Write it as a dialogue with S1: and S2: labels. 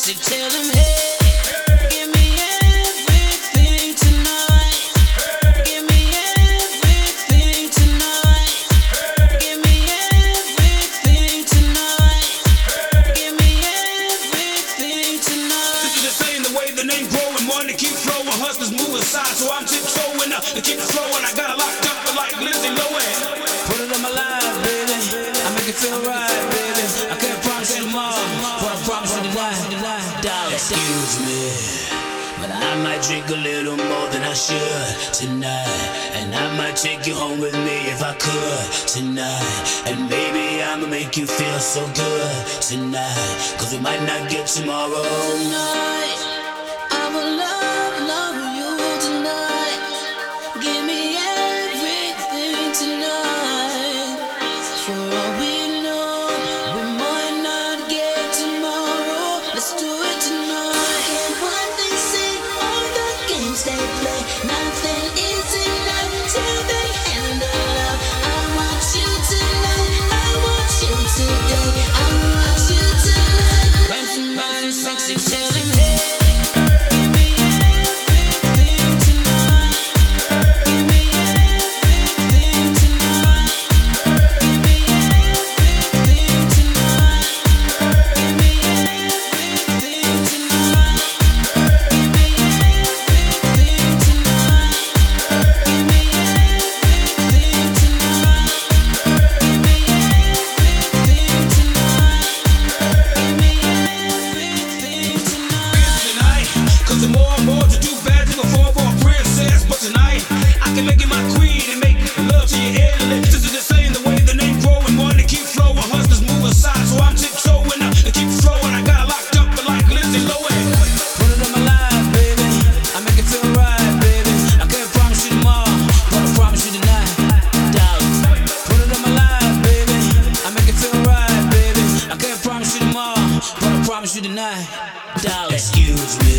S1: sexy, tell him, hey, give me everything tonight. Give me everything tonight. Give me everything tonight. Give me everything tonight.
S2: This is the same, the way the name growing, one to keep flowing, hustlers move aside, so I'm tiptoeing up to keep it flowing. I got it locked up like Lindsay Lohan.
S1: Put it on my life, baby. I make it feel right, baby. I can't promise you tomorrow, but I promise you tonight. Darling,
S3: Excuse me, but I might drink a little more than I should tonight. And I might take you home with me if I could tonight. And baby, I'ma make you feel so good tonight, 'cause we might not get tomorrow.
S1: tonight, I will love you tonight. Give me everything tonight. For all we know, we might not get tomorrow. Let's do it tonight.
S4: And what they say, all the games they play, nothing is enough till they end the love. I want you tonight, I want you today, I want you tonight.
S1: When somebody's sexy, tell him, hey, give me everything tonight. Give me everything tonight. Give me everything tonight. Give me everything tonight. Give me everything tonight. Give me everything tonight. Give me everything tonight. Give me everything tonight.
S2: Tonight, 'cause the more and more to do bad, you can fall for a princess. But tonight, I can make you my queen and make love to you endless. This is the same, the way the name growing, one to keep flowing, hustlers move aside, so I'm tiptoeing up to keep flowing. I got it locked up like Lindsay Lohan.
S1: Put it on my life, baby. I make it feel right, baby. I can't promise you tomorrow, but I promise you tonight, darling. Put it on my life, baby. I make it feel right, baby. I can't promise you tomorrow, but I promise you tonight, darling.
S3: Excuse me,